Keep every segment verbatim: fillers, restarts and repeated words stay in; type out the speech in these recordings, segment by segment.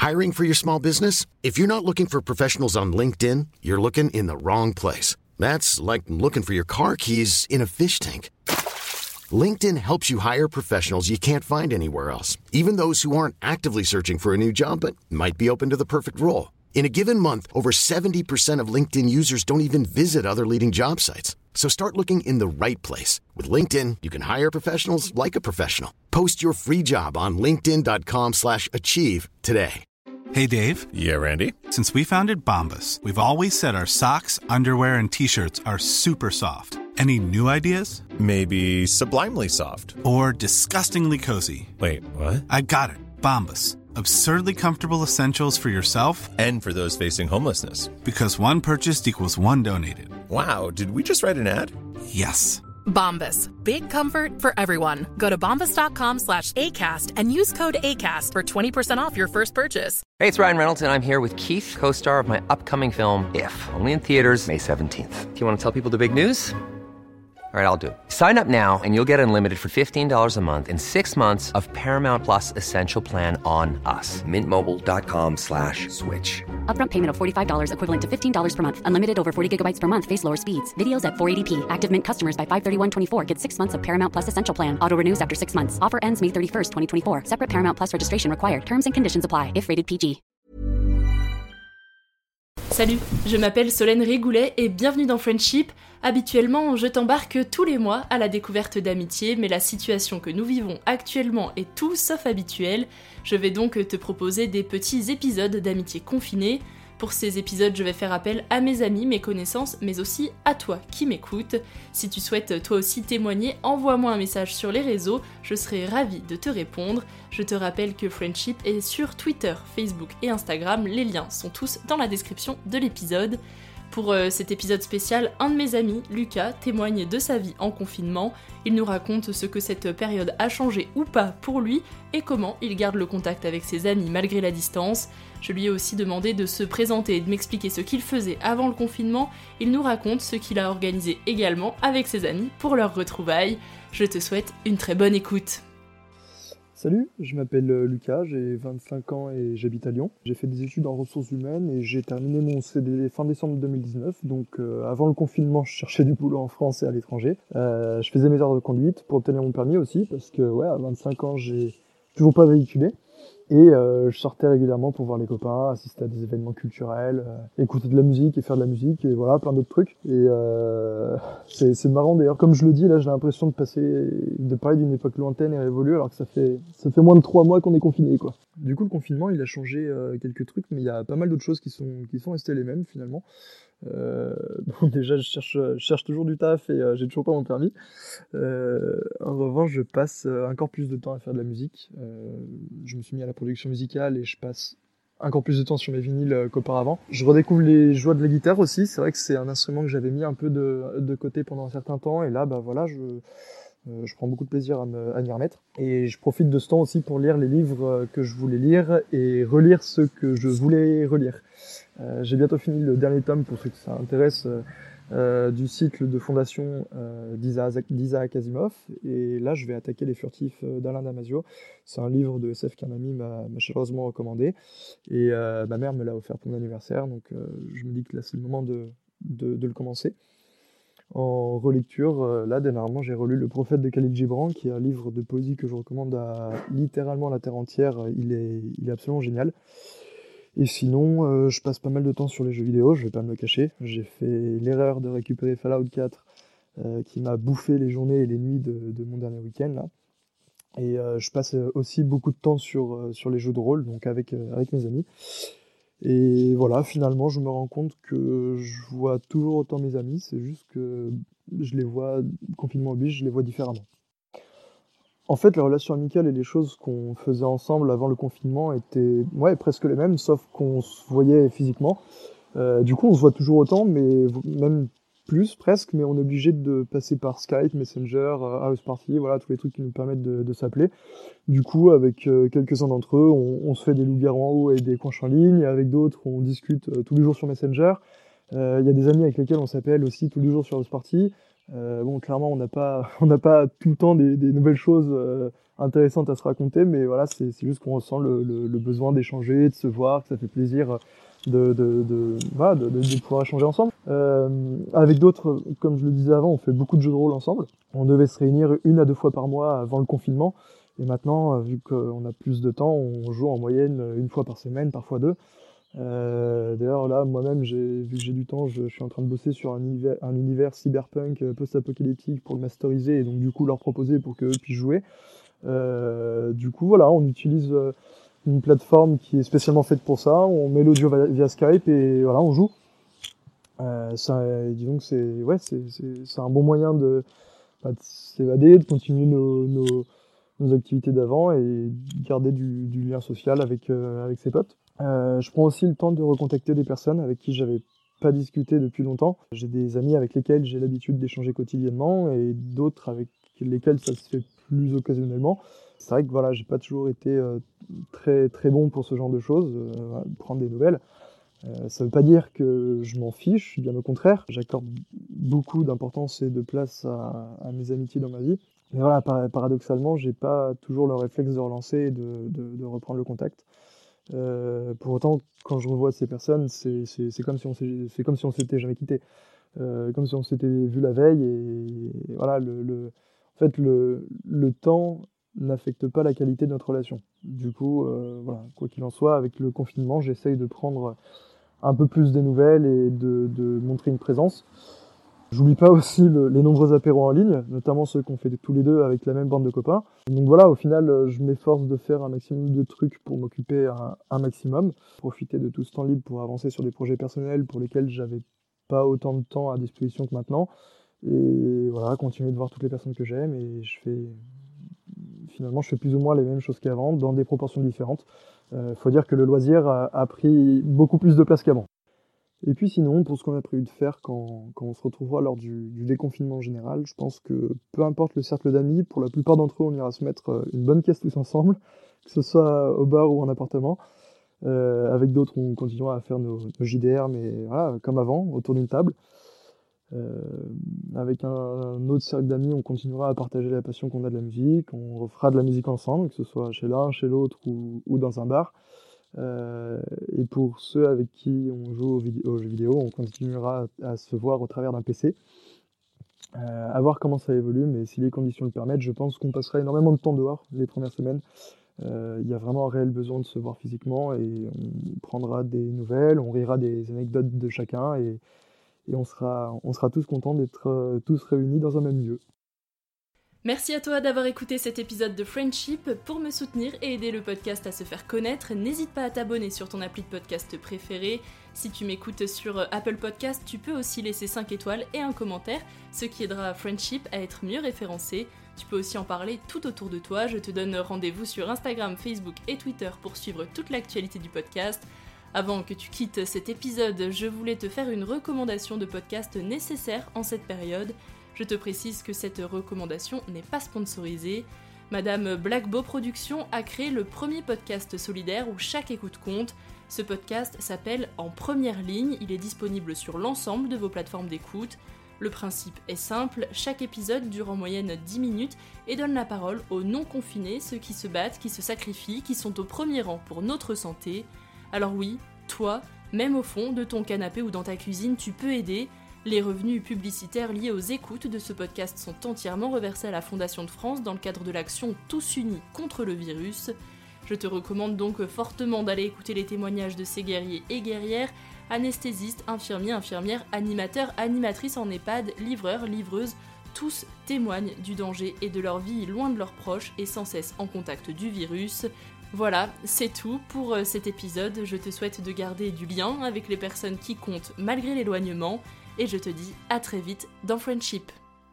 Hiring for your small business? If you're not looking for professionals on LinkedIn, you're looking in the wrong place. That's like looking for your car keys in a fish tank. LinkedIn helps you hire professionals you can't find anywhere else, even those who aren't actively searching for a new job but might be open to the perfect role. In a given month, over seventy percent of LinkedIn users don't even visit other leading job sites. So start looking in the right place. With LinkedIn, you can hire professionals like a professional. Post your free job on linkedin.com slash achieve today. Hey, Dave. Yeah, Randy. Since we founded Bombas, we've always said our socks, underwear, and T-shirts are super soft. Any new ideas? Maybe sublimely soft. Or disgustingly cozy. Wait, what? I got it. Bombas. Absurdly comfortable essentials for yourself and for those facing homelessness. Because one purchased equals one donated. Wow, did we just write an ad? Yes. Bombas. Big comfort for everyone. Go to bombas.com slash ACAST and use code ACAST for twenty percent off your first purchase. Hey, it's Ryan Reynolds, and I'm here with Keith, co-star of my upcoming film, If, only in theaters May seventeenth. Do you want to tell people the big news? All right, I'll do it. Sign up now and you'll get unlimited for fifteen dollars a month and six months of Paramount Plus Essential Plan on us. Mint Mobile dot com slash switch. Upfront payment of forty-five dollars equivalent to fifteen dollars per month. Unlimited over forty gigabytes per month. Face lower speeds. Videos at four eighty p. Active Mint customers by five thirty-one twenty-four get six months of Paramount Plus Essential Plan. Auto renews after six months. Offer ends May thirty-first, twenty twenty-four. Separate Paramount Plus registration required. Terms and conditions apply if rated P G. Salut, je m'appelle Solène Régoulet et bienvenue dans Friendship. Habituellement, je t'embarque tous les mois à la découverte d'amitié, mais la situation que nous vivons actuellement est tout sauf habituelle. Je vais donc te proposer des petits épisodes d'amitié confinée. Pour ces épisodes, je vais faire appel à mes amis, mes connaissances, mais aussi à toi qui m'écoutes. Si tu souhaites toi aussi témoigner, envoie-moi un message sur les réseaux, je serai ravie de te répondre. Je te rappelle que Friendship est sur Twitter, Facebook et Instagram, les liens sont tous dans la description de l'épisode. Pour euh, cet épisode spécial, un de mes amis, Lucas, témoigne de sa vie en confinement. Il nous raconte ce que cette période a changé ou pas pour lui et comment il garde le contact avec ses amis malgré la distance. Je lui ai aussi demandé de se présenter et de m'expliquer ce qu'il faisait avant le confinement. Il nous raconte ce qu'il a organisé également avec ses amis pour leur retrouvailles. Je te souhaite une très bonne écoute. Salut, je m'appelle Lucas, j'ai vingt-cinq ans et j'habite à Lyon. J'ai fait des études en ressources humaines et j'ai terminé mon C D fin décembre deux mille dix-neuf. Donc euh, avant le confinement, je cherchais du boulot en France et à l'étranger. Euh, je faisais mes heures de conduite pour obtenir mon permis aussi parce que ouais, à vingt-cinq ans, j'ai toujours pas véhiculé. Et euh, je sortais régulièrement pour voir les copains, assister à des événements culturels, euh, écouter de la musique et faire de la musique et voilà, plein d'autres trucs. Et euh, c'est, c'est marrant d'ailleurs, comme je le dis, là j'ai l'impression de passer, de parler d'une époque lointaine et révolue alors que ça fait ça fait moins de trois mois qu'on est confiné quoi. Du coup le confinement il a changé euh, quelques trucs, mais il y a pas mal d'autres choses qui sont qui sont restées les mêmes finalement. Euh, bon, déjà je cherche, je cherche toujours du taf et euh, j'ai toujours pas mon permis. Euh, en revanche je passe encore plus de temps à faire de la musique. Euh, je me suis mis à la production musicale et je passe encore plus de temps sur mes vinyles qu'auparavant. Je redécouvre les joies de la guitare aussi. C'est vrai que c'est un instrument que j'avais mis un peu de, de côté pendant un certain temps et là bah voilà je Euh, je prends beaucoup de plaisir à, me, à m'y remettre. Et je profite de ce temps aussi pour lire les livres que je voulais lire et relire ceux que je voulais relire. Euh, j'ai bientôt fini le dernier tome, pour ceux que ça intéresse, euh, euh, du cycle de fondation euh, d'Isaac, d'Isaac Asimov. Et là, je vais attaquer Les Furtifs d'Alain Damasio. C'est un livre de S F qu'un ami m'a, m'a chaleureusement recommandé. Et euh, ma mère me l'a offert pour mon anniversaire. Donc euh, je me dis que là, c'est le moment de, de, de le commencer. En relecture, euh, là dernièrement j'ai relu Le Prophète de Khalil Gibran, qui est un livre de poésie que je recommande à littéralement la terre entière. Il est, il est absolument génial. Et sinon, euh, je passe pas mal de temps sur les jeux vidéo, je vais pas me le cacher. J'ai fait l'erreur de récupérer Fallout quatre, euh, qui m'a bouffé les journées et les nuits de, de mon dernier week-end là. Et euh, je passe aussi beaucoup de temps sur, euh, sur les jeux de rôle, donc avec, euh, avec mes amis. Et voilà, finalement, je me rends compte que je vois toujours autant mes amis, c'est juste que je les vois, confinement oblige, je les vois différemment. En fait, les relations amicales et les choses qu'on faisait ensemble avant le confinement étaient ouais, presque les mêmes, sauf qu'on se voyait physiquement. Euh, du coup, on se voit toujours autant, mais même plus presque, mais on est obligé de passer par Skype, Messenger, House Party, voilà, tous les trucs qui nous permettent de, de s'appeler. Du coup, avec euh, quelques-uns d'entre eux, on, on se fait des loups-garous en haut et des coinches en ligne. Avec d'autres, on discute euh, tous les jours sur Messenger. Il euh, y a des amis avec lesquels on s'appelle aussi tous les jours sur House Party. Euh, bon, clairement, on n'a pas, on n'a pas tout le temps des, des nouvelles choses euh, intéressantes à se raconter, mais voilà, c'est, c'est juste qu'on ressent le, le, le besoin d'échanger, de se voir, que ça fait plaisir de, de, de, voilà, de, de, de pouvoir échanger ensemble. Euh, avec d'autres, comme je le disais avant, on fait beaucoup de jeux de rôle ensemble. On devait se réunir une à deux fois par mois avant le confinement, et maintenant, vu qu'on a plus de temps, on joue en moyenne une fois par semaine, parfois deux. Euh, d'ailleurs là moi-même j'ai, vu que j'ai du temps, je, je suis en train de bosser sur un univers, un univers cyberpunk euh, post-apocalyptique pour le masteriser et donc du coup leur proposer pour qu'eux puissent jouer. Euh, du coup voilà, on utilise euh, une plateforme qui est spécialement faite pour ça, on met l'audio via, via Skype et voilà on joue. Euh, ça, disons que c'est, ouais, c'est, c'est, c'est un bon moyen de, bah, de s'évader, de continuer nos, nos, nos activités d'avant et garder du, du lien social avec, euh, avec ses potes. Euh, je prends aussi le temps de recontacter des personnes avec qui j'avais pas discuté depuis longtemps. J'ai des amis avec lesquels j'ai l'habitude d'échanger quotidiennement et d'autres avec lesquels ça se fait plus occasionnellement. C'est vrai que voilà, j'ai pas toujours été euh, très très bon pour ce genre de choses, euh, prendre des nouvelles. Euh, ça veut pas dire que je m'en fiche, bien au contraire. J'accorde beaucoup d'importance et de place à, à mes amitiés dans ma vie. Mais voilà, par- paradoxalement, j'ai pas toujours le réflexe de relancer et de, de, de reprendre le contact. Euh, pour autant, quand je revois ces personnes, c'est, c'est, c'est comme si on s'est, c'est comme si on s'était jamais quitté, euh, comme si on s'était vu la veille. Et, et voilà, le, le, en fait, le, le temps n'affecte pas la qualité de notre relation. Du coup, euh, voilà, quoi qu'il en soit, avec le confinement, j'essaye de prendre un peu plus des nouvelles et de, de montrer une présence. J'oublie pas aussi le, les nombreux apéros en ligne, notamment ceux qu'on fait tous les deux avec la même bande de copains. Donc voilà, au final, je m'efforce de faire un maximum de trucs pour m'occuper un, un maximum, profiter de tout ce temps libre pour avancer sur des projets personnels pour lesquels j'avais pas autant de temps à disposition que maintenant. Et voilà, continuer de voir toutes les personnes que j'aime et je fais... Finalement, je fais plus ou moins les mêmes choses qu'avant, dans des proportions différentes. Euh, faut dire que le loisir a, a pris beaucoup plus de place qu'avant. Et puis sinon, pour ce qu'on a prévu de faire quand, quand on se retrouvera lors du, du déconfinement général, je pense que peu importe le cercle d'amis, pour la plupart d'entre eux, on ira se mettre une bonne caisse tous ensemble, que ce soit au bar ou en appartement. Euh, avec d'autres, on continuera à faire nos, nos J D R, mais voilà, comme avant, autour d'une table. Euh, avec un, un autre cercle d'amis, on continuera à partager la passion qu'on a de la musique, on refera de la musique ensemble, que ce soit chez l'un, chez l'autre ou, ou dans un bar. Euh, et pour ceux avec qui on joue aux, vid- aux jeux vidéo, on continuera à, à se voir au travers d'un P C. Euh, à voir comment ça évolue, mais si les conditions le permettent, je pense qu'on passera énormément de temps dehors les premières semaines. Euh, Il y a vraiment un réel besoin de se voir physiquement et on prendra des nouvelles, on rira des anecdotes de chacun et, et on sera, on sera tous contents d'être euh, tous réunis dans un même lieu. Merci à toi d'avoir écouté cet épisode de Friendship. Pour me soutenir et aider le podcast à se faire connaître, n'hésite pas à t'abonner sur ton appli de podcast préféré. Si tu m'écoutes sur Apple Podcast, tu peux aussi laisser cinq étoiles et un commentaire, ce qui aidera Friendship à être mieux référencé. Tu peux aussi en parler tout autour de toi. Je te donne rendez-vous sur Instagram, Facebook et Twitter pour suivre toute l'actualité du podcast. Avant que tu quittes cet épisode, je voulais te faire une recommandation de podcast nécessaire en cette période. Je te précise que cette recommandation n'est pas sponsorisée. Madame Blackbo Productions a créé le premier podcast solidaire où chaque écoute compte. Ce podcast s'appelle En Première Ligne, il est disponible sur l'ensemble de vos plateformes d'écoute. Le principe est simple, chaque épisode dure en moyenne dix minutes et donne la parole aux non-confinés, ceux qui se battent, qui se sacrifient, qui sont au premier rang pour notre santé. Alors oui, toi, même au fond de ton canapé ou dans ta cuisine, tu peux aider. Les revenus publicitaires liés aux écoutes de ce podcast sont entièrement reversés à la Fondation de France dans le cadre de l'action Tous Unis contre le virus. Je te recommande donc fortement d'aller écouter les témoignages de ces guerriers et guerrières, anesthésistes, infirmiers, infirmières, animateurs, animatrices en EHPAD, livreurs, livreuses, tous témoignent du danger et de leur vie loin de leurs proches et sans cesse en contact du virus. Voilà, c'est tout pour cet épisode. Je te souhaite de garder du lien avec les personnes qui comptent malgré l'éloignement. Et je te dis à très vite dans Friendship.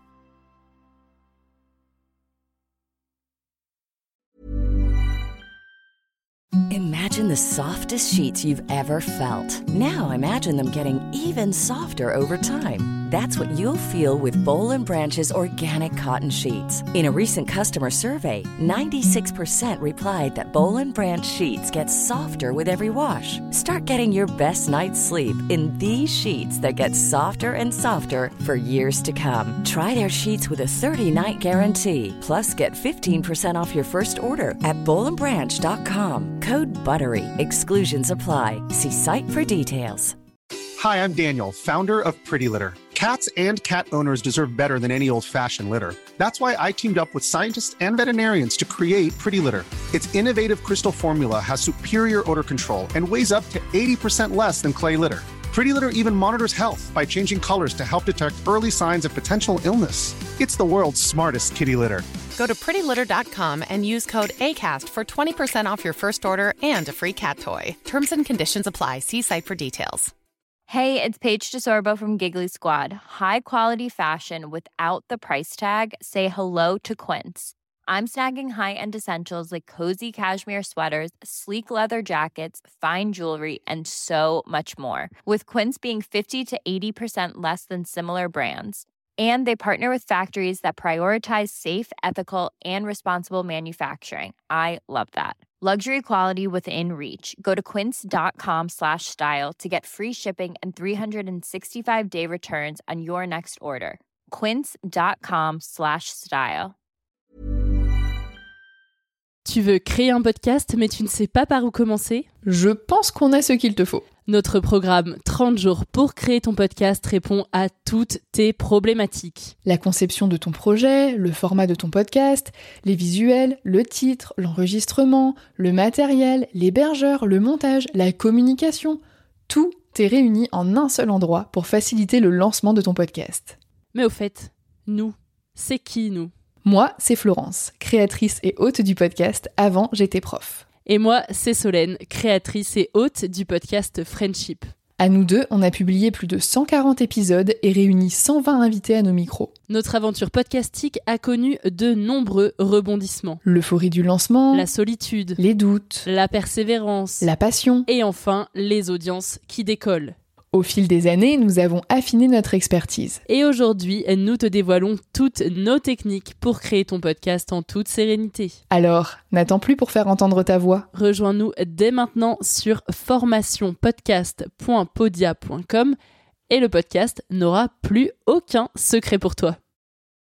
Imagine the softest sheets you've ever felt. Now imagine them getting even softer over time. That's what you'll feel with Boll and Branch's organic cotton sheets. In a recent customer survey, ninety-six percent replied that Boll and Branch sheets get softer with every wash. Start getting your best night's sleep in these sheets that get softer and softer for years to come. Try their sheets with a thirty-night guarantee. Plus, get fifteen percent off your first order at boll and branch dot com. Code BUTTERY. Exclusions apply. See site for details. Hi, I'm Daniel, founder of Pretty Litter. Cats and cat owners deserve better than any old-fashioned litter. That's why I teamed up with scientists and veterinarians to create Pretty Litter. Its innovative crystal formula has superior odor control and weighs up to eighty percent less than clay litter. Pretty Litter even monitors health by changing colors to help detect early signs of potential illness. It's the world's smartest kitty litter. Go to pretty litter dot com and use code ACAST for twenty percent off your first order and a free cat toy. Terms and conditions apply. See site for details. Hey, it's Paige DeSorbo from Giggly Squad. High quality fashion without the price tag. Say hello to Quince. I'm snagging high-end essentials like cozy cashmere sweaters, sleek leather jackets, fine jewelry, and so much more. With Quince being fifty to eighty percent less than similar brands. And they partner with factories that prioritize safe, ethical, and responsible manufacturing. I love that. Luxury quality within reach. Go to quince.com slash style to get free shipping and three sixty-five day returns on your next order. Quince.com slash style. Tu veux créer un podcast mais tu ne sais pas par où commencer ? Je pense qu'on a ce qu'il te faut. Notre programme trente jours pour créer ton podcast répond à toutes tes problématiques. La conception de ton projet, le format de ton podcast, les visuels, le titre, l'enregistrement, le matériel, l'hébergeur, le montage, la communication, tout est réuni en un seul endroit pour faciliter le lancement de ton podcast. Mais au fait, nous, c'est qui nous ? Moi, c'est Florence, créatrice et hôte du podcast Avant j'étais prof. Et moi, c'est Solène, créatrice et hôte du podcast Friendship. À nous deux, on a publié plus de cent quarante épisodes et réuni cent vingt invités à nos micros. Notre aventure podcastique a connu de nombreux rebondissements. L'euphorie du lancement, la solitude, les doutes, la persévérance, la passion et enfin les audiences qui décollent. Au fil des années, nous avons affiné notre expertise. Et aujourd'hui, nous te dévoilons toutes nos techniques pour créer ton podcast en toute sérénité. Alors, n'attends plus pour faire entendre ta voix. Rejoins-nous dès maintenant sur formation podcast point podia point com et le podcast n'aura plus aucun secret pour toi.